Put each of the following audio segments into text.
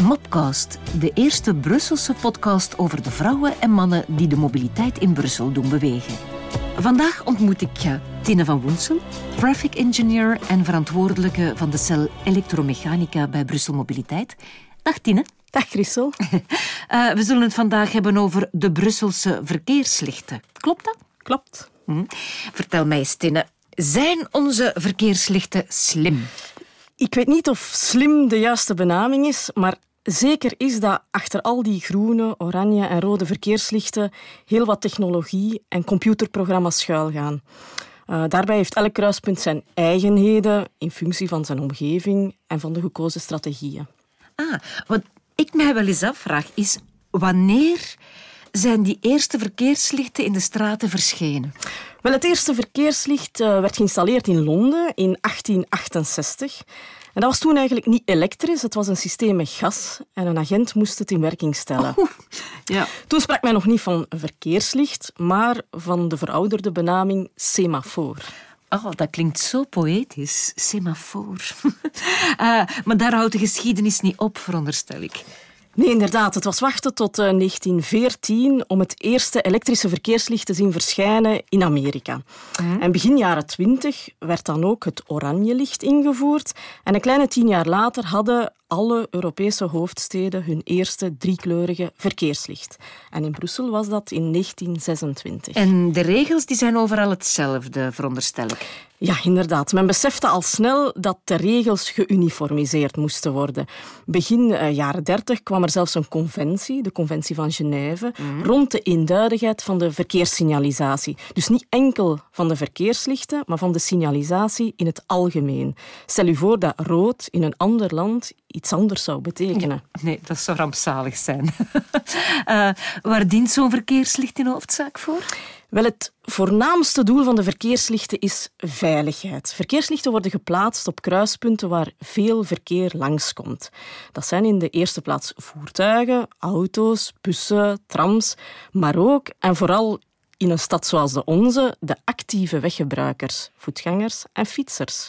Mopcast, de eerste Brusselse podcast over de vrouwen en mannen die de mobiliteit in Brussel doen bewegen. Vandaag ontmoet ik Tine van Woensel, traffic engineer en verantwoordelijke van de cel elektromechanica bij Brussel Mobiliteit. Dag Tine. Dag Christel. We zullen het vandaag hebben over de Brusselse verkeerslichten. Klopt dat? Klopt. Vertel mij eens, Tine, zijn onze verkeerslichten slim? Ik weet niet of slim de juiste benaming is, maar zeker is dat achter al die groene, oranje en rode verkeerslichten heel wat technologie en computerprogramma's schuilgaan. Daarbij heeft elk kruispunt zijn eigenheden in functie van zijn omgeving en van de gekozen strategieën. Wat ik mij wel eens afvraag is, wanneer zijn die eerste verkeerslichten in de straten verschenen? Wel, het eerste verkeerslicht werd geïnstalleerd in Londen in 1868. En dat was toen eigenlijk niet elektrisch, het was een systeem met gas en een agent moest het in werking stellen. Ja. Toen sprak men nog niet van een verkeerslicht, maar van de verouderde benaming semafoor. Oh, dat klinkt zo poëtisch. Semafoor. Maar daar houdt de geschiedenis niet op, veronderstel ik. Nee, inderdaad. Het was wachten tot 1914 om het eerste elektrische verkeerslicht te zien verschijnen in Amerika. En begin jaren 20 werd dan ook het oranje licht ingevoerd. En een kleine 10 jaar later hadden alle Europese hoofdsteden hun eerste driekleurige verkeerslicht. En in Brussel was dat in 1926. En de regels die zijn overal hetzelfde, veronderstel ik. Ja, inderdaad. Men besefte al snel dat de regels geuniformiseerd moesten worden. Begin jaren 30 kwam er zelfs een conventie, de Conventie van Genève, rond de eenduidigheid van de verkeerssignalisatie. Dus niet enkel van de verkeerslichten, maar van de signalisatie in het algemeen. Stel u voor dat rood in een ander land iets anders zou betekenen. Nee, dat zou rampzalig zijn. Waar dient zo'n verkeerslicht in hoofdzaak voor? Wel, het voornaamste doel van de verkeerslichten is veiligheid. Verkeerslichten worden geplaatst op kruispunten waar veel verkeer langskomt. Dat zijn in de eerste plaats voertuigen, auto's, bussen, trams, maar ook en vooral in een stad zoals de onze de actieve weggebruikers, voetgangers en fietsers.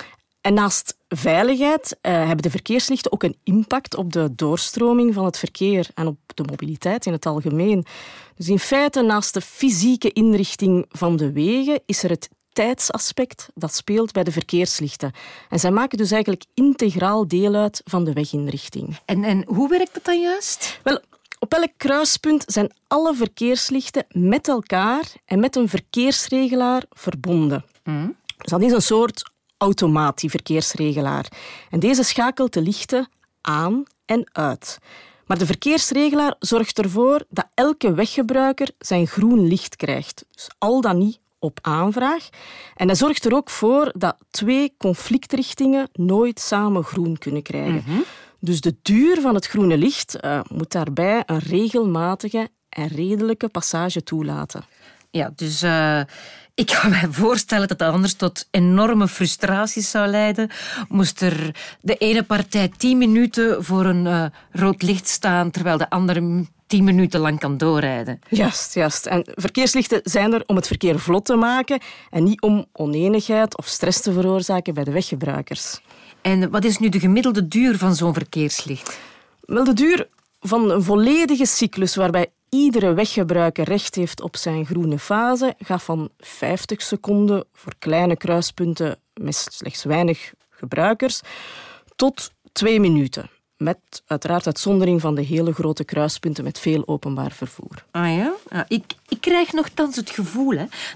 En naast veiligheid hebben de verkeerslichten ook een impact op de doorstroming van het verkeer en op de mobiliteit in het algemeen. Dus in feite, naast de fysieke inrichting van de wegen, is er het tijdsaspect dat speelt bij de verkeerslichten. En zij maken dus eigenlijk integraal deel uit van de weginrichting. En hoe werkt dat dan juist? Wel, op elk kruispunt zijn alle verkeerslichten met elkaar en met een verkeersregelaar verbonden. Dus dat is een soort automaat, die verkeersregelaar. En deze schakelt de lichten aan en uit. Maar de verkeersregelaar zorgt ervoor dat elke weggebruiker zijn groen licht krijgt. Dus al dan niet op aanvraag. En hij zorgt er ook voor dat 2 conflictrichtingen nooit samen groen kunnen krijgen. Dus de duur van het groene licht moet daarbij een regelmatige en redelijke passage toelaten. Ja, dus ik kan me voorstellen dat dat anders tot enorme frustraties zou leiden. Moest er de ene partij 10 minuten voor een rood licht staan, terwijl de andere 10 minuten lang kan doorrijden. Juist. En verkeerslichten zijn er om het verkeer vlot te maken en niet om onenigheid of stress te veroorzaken bij de weggebruikers. En wat is nu de gemiddelde duur van zo'n verkeerslicht? Wel, de duur van een volledige cyclus waarbij iedere weggebruiker recht heeft op zijn groene fase gaat van 50 seconden voor kleine kruispunten met slechts weinig gebruikers tot 2 minuten. Met uiteraard uitzondering van de hele grote kruispunten met veel openbaar vervoer. Ah ja? Ik krijg nogthans het gevoel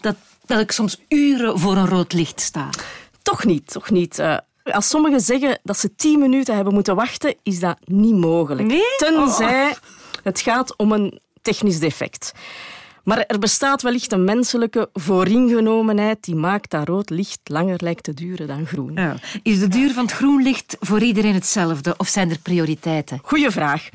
dat ik soms uren voor een rood licht sta. Toch niet. Als sommigen zeggen dat ze 10 minuten hebben moeten wachten, is dat niet mogelijk. Nee? Tenzij het gaat om een technisch defect. Maar er bestaat wellicht een menselijke vooringenomenheid die maakt dat rood licht langer lijkt te duren dan groen. Ja. Is de duur van het groen licht voor iedereen hetzelfde of zijn er prioriteiten? Goeie vraag.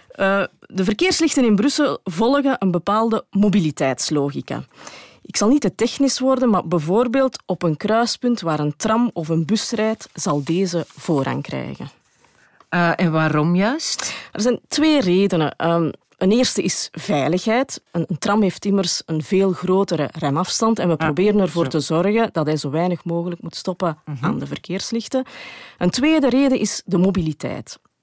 De verkeerslichten in Brussel volgen een bepaalde mobiliteitslogica. Ik zal niet te technisch worden, maar bijvoorbeeld op een kruispunt waar een tram of een bus rijdt, zal deze voorrang krijgen. En waarom juist? Er zijn 2 redenen. Een eerste is veiligheid. Een tram heeft immers een veel grotere remafstand en we proberen ervoor te zorgen dat hij zo weinig mogelijk moet stoppen aan de verkeerslichten. Een tweede reden is de mobiliteit.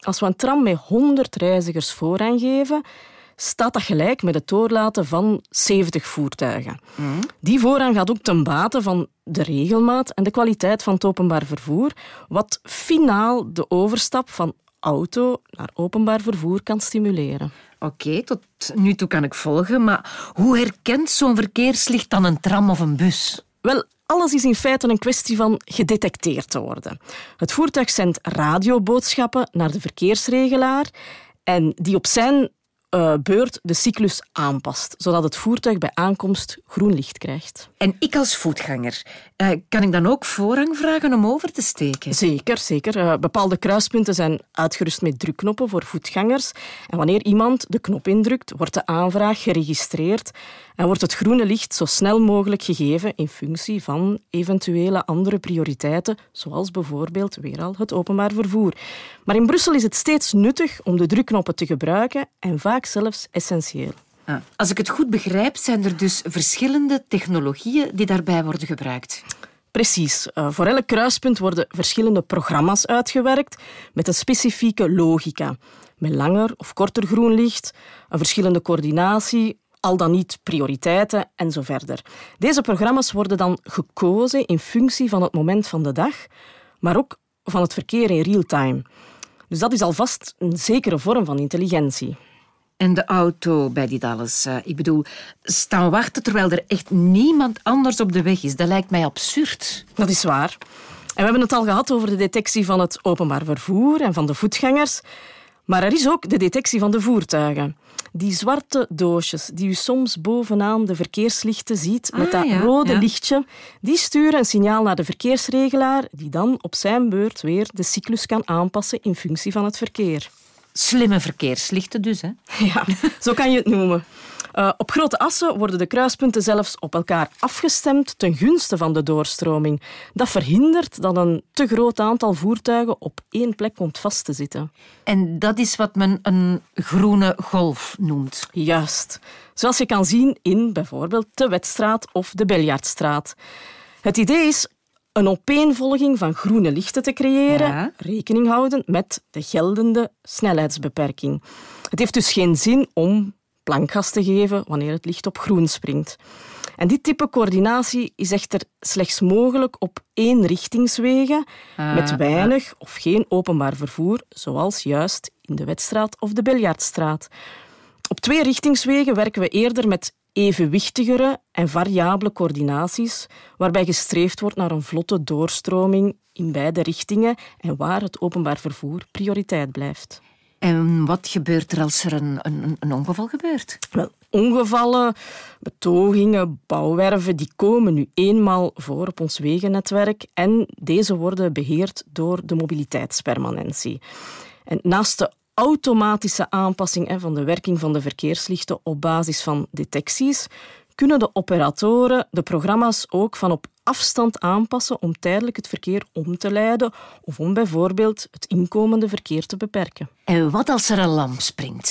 Als we een tram met 100 reizigers voorrang geven, staat dat gelijk met het doorlaten van 70 voertuigen. Die voorrang gaat ook ten bate van de regelmaat en de kwaliteit van het openbaar vervoer, wat finaal de overstap van auto naar openbaar vervoer kan stimuleren. Oké, tot nu toe kan ik volgen, maar hoe herkent zo'n verkeerslicht dan een tram of een bus? Wel, alles is in feite een kwestie van gedetecteerd te worden. Het voertuig zendt radioboodschappen naar de verkeersregelaar en die op zijn beurt de cyclus aanpast, zodat het voertuig bij aankomst groen licht krijgt. En ik als voetganger, kan ik dan ook voorrang vragen om over te steken? Zeker. Bepaalde kruispunten zijn uitgerust met drukknoppen voor voetgangers. En wanneer iemand de knop indrukt, wordt de aanvraag geregistreerd en wordt het groene licht zo snel mogelijk gegeven in functie van eventuele andere prioriteiten, zoals bijvoorbeeld weer al het openbaar vervoer. Maar in Brussel is het steeds nuttig om de drukknoppen te gebruiken en vaak zelfs essentieel. Als ik het goed begrijp, zijn er dus verschillende technologieën die daarbij worden gebruikt. Precies. Voor elk kruispunt worden verschillende programma's uitgewerkt met een specifieke logica. Met langer of korter groen licht, een verschillende coördinatie, al dan niet prioriteiten en zo verder. Deze programma's worden dan gekozen in functie van het moment van de dag, maar ook van het verkeer in real-time. Dus dat is alvast een zekere vorm van intelligentie. En de auto bij dit alles. Ik bedoel, staan wachten terwijl er echt niemand anders op de weg is. Dat lijkt mij absurd. Dat is waar. En we hebben het al gehad over de detectie van het openbaar vervoer en van de voetgangers. Maar er is ook de detectie van de voertuigen. Die zwarte doosjes die u soms bovenaan de verkeerslichten ziet met dat rode lichtje, die sturen een signaal naar de verkeersregelaar die dan op zijn beurt weer de cyclus kan aanpassen in functie van het verkeer. Slimme verkeerslichten dus, hè? Ja, zo kan je het noemen. Op grote assen worden de kruispunten zelfs op elkaar afgestemd ten gunste van de doorstroming. Dat verhindert dat een te groot aantal voertuigen op één plek komt vast te zitten. En dat is wat men een groene golf noemt. Juist. Zoals je kan zien in bijvoorbeeld de Wetstraat of de Beljaardstraat. Het idee is een opeenvolging van groene lichten te creëren, rekening houden met de geldende snelheidsbeperking. Het heeft dus geen zin om plankgas te geven wanneer het licht op groen springt. En dit type coördinatie is echter slechts mogelijk op eenrichtingswegen met weinig of geen openbaar vervoer, zoals juist in de Wetstraat of de Beljaardstraat. Op tweerichtingswegen werken we eerder met evenwichtigere en variabele coördinaties, waarbij gestreefd wordt naar een vlotte doorstroming in beide richtingen en waar het openbaar vervoer prioriteit blijft. En wat gebeurt er als er een ongeval gebeurt? Wel, ongevallen, betogingen, bouwwerven, die komen nu eenmaal voor op ons wegennetwerk en deze worden beheerd door de mobiliteitspermanentie. En naast de automatische aanpassing van de werking van de verkeerslichten op basis van detecties, kunnen de operatoren de programma's ook van op afstand aanpassen om tijdelijk het verkeer om te leiden of om bijvoorbeeld het inkomende verkeer te beperken. En wat als er een lamp springt?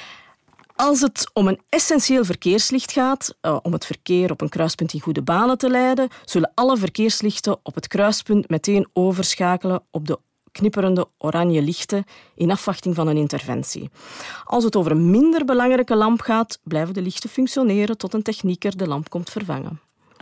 Als het om een essentieel verkeerslicht gaat, om het verkeer op een kruispunt in goede banen te leiden, zullen alle verkeerslichten op het kruispunt meteen overschakelen op de knipperende oranje lichten in afwachting van een interventie. Als het over een minder belangrijke lamp gaat, blijven de lichten functioneren tot een technieker de lamp komt vervangen.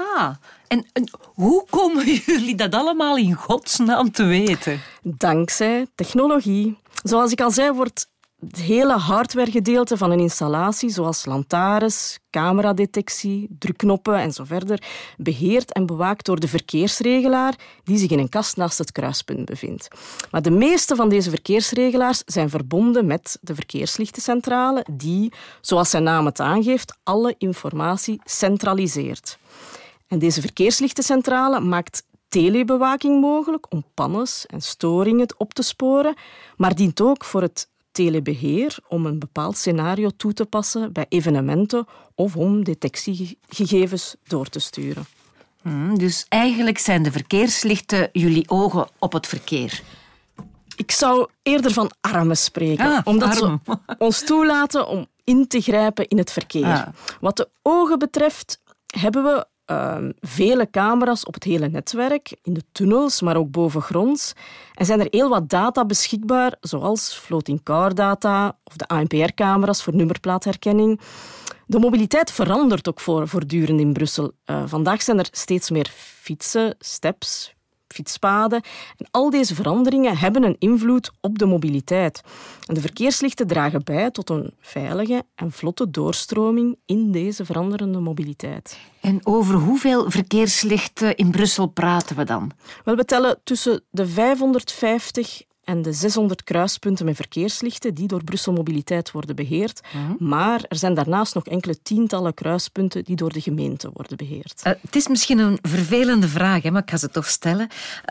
En hoe komen jullie dat allemaal in godsnaam te weten? Dankzij technologie. Zoals ik al zei, wordt het hele hardwaregedeelte van een installatie, zoals lantaarns, cameradetectie, drukknoppen en zo verder, beheerd en bewaakt door de verkeersregelaar die zich in een kast naast het kruispunt bevindt. Maar de meeste van deze verkeersregelaars zijn verbonden met de verkeerslichtencentrale die, zoals zijn naam het aangeeft, alle informatie centraliseert. En deze verkeerslichtencentrale maakt telebewaking mogelijk om pannes en storingen op te sporen, maar dient ook voor het telebeheer om een bepaald scenario toe te passen bij evenementen of om detectiegegevens door te sturen. Dus eigenlijk zijn de verkeerslichten jullie ogen op het verkeer. Ik zou eerder van armen spreken, omdat ze ons toelaten om in te grijpen in het verkeer. Wat de ogen betreft hebben we vele camera's op het hele netwerk, in de tunnels, maar ook bovengronds. En zijn er heel wat data beschikbaar, zoals floating car data of de ANPR-camera's voor nummerplaatherkenning. De mobiliteit verandert ook voortdurend in Brussel. Vandaag zijn er steeds meer fietsen, steps, fietspaden. En al deze veranderingen hebben een invloed op de mobiliteit. En de verkeerslichten dragen bij tot een veilige en vlotte doorstroming in deze veranderende mobiliteit. En over hoeveel verkeerslichten in Brussel praten we dan? Wel, we tellen tussen de 550 en de 600 kruispunten met verkeerslichten die door Brussel Mobiliteit worden beheerd. Maar er zijn daarnaast nog enkele tientallen kruispunten die door de gemeente worden beheerd. Het is misschien een vervelende vraag, maar ik ga ze toch stellen.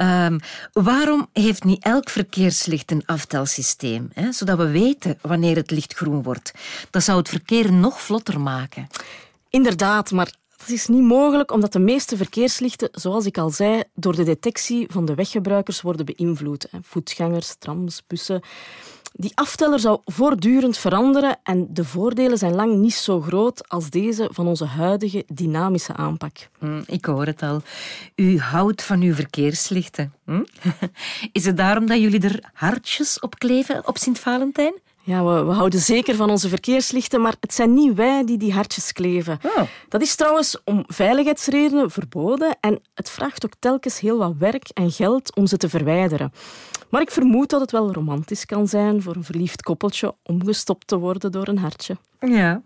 Waarom heeft niet elk verkeerslicht een aftelsysteem? Zodat we weten wanneer het licht groen wordt. Dat zou het verkeer nog vlotter maken. Inderdaad, maar dat is niet mogelijk omdat de meeste verkeerslichten, zoals ik al zei, door de detectie van de weggebruikers worden beïnvloed. Voetgangers, trams, bussen. Die afteller zou voortdurend veranderen en de voordelen zijn lang niet zo groot als deze van onze huidige dynamische aanpak. Ik hoor het al. U houdt van uw verkeerslichten. Is het daarom dat jullie er hartjes op kleven op Sint-Valentijn? Ja, we houden zeker van onze verkeerslichten, maar het zijn niet wij die hartjes kleven. Oh. Dat is trouwens om veiligheidsredenen verboden en het vraagt ook telkens heel wat werk en geld om ze te verwijderen. Maar ik vermoed dat het wel romantisch kan zijn voor een verliefd koppeltje om gestopt te worden door een hartje. Ja.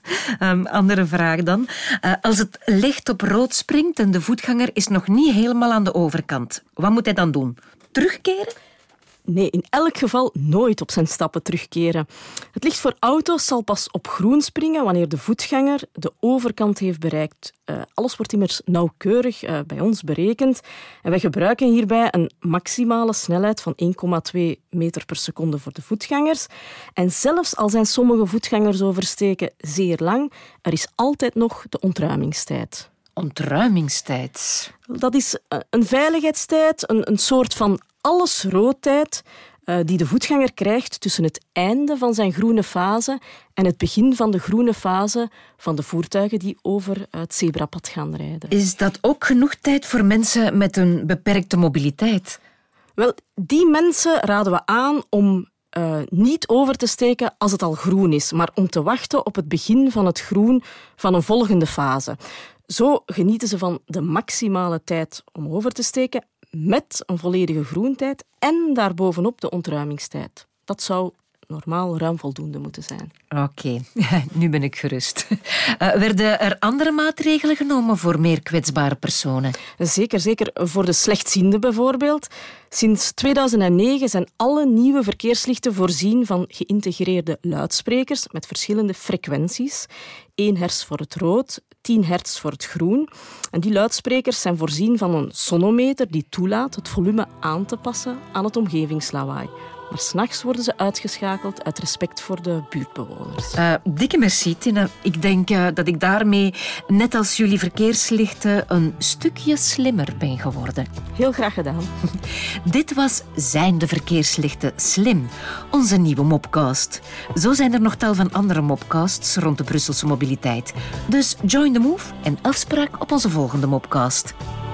Andere vraag dan. Als het licht op rood springt en de voetganger is nog niet helemaal aan de overkant, wat moet hij dan doen? Terugkeren? Nee, in elk geval nooit op zijn stappen terugkeren. Het licht voor auto's zal pas op groen springen wanneer de voetganger de overkant heeft bereikt. Alles wordt immers nauwkeurig bij ons berekend. En wij gebruiken hierbij een maximale snelheid van 1,2 meter per seconde voor de voetgangers. En zelfs al zijn sommige voetgangers oversteken zeer lang, er is altijd nog de ontruimingstijd. Ontruimingstijd? Dat is een veiligheidstijd, een soort van allesroodtijd die de voetganger krijgt tussen het einde van zijn groene fase en het begin van de groene fase van de voertuigen die over het zebrapad gaan rijden. Is dat ook genoeg tijd voor mensen met een beperkte mobiliteit? Wel, die mensen raden we aan om niet over te steken als het al groen is, maar om te wachten op het begin van het groen van een volgende fase. Zo genieten ze van de maximale tijd om over te steken met een volledige groentijd en daarbovenop de ontruimingstijd. Dat zou normaal ruim voldoende moeten zijn. Oké, nu ben ik gerust. Werden er andere maatregelen genomen voor meer kwetsbare personen? Zeker. Voor de slechtzienden bijvoorbeeld. Sinds 2009 zijn alle nieuwe verkeerslichten voorzien van geïntegreerde luidsprekers met verschillende frequenties. 1 hertz voor het rood, 10 hertz voor het groen. En die luidsprekers zijn voorzien van een sonometer die toelaat het volume aan te passen aan het omgevingslawaai. Maar 's nachts worden ze uitgeschakeld uit respect voor de buurtbewoners. Dikke merci, Tina. Ik denk dat ik daarmee, net als jullie verkeerslichten, een stukje slimmer ben geworden. Heel graag gedaan. Dit was Zijn de verkeerslichten slim? Onze nieuwe mopcast. Zo zijn er nog tal van andere mopcasts rond de Brusselse mobiliteit. Dus join the move en afspraak op onze volgende mopcast.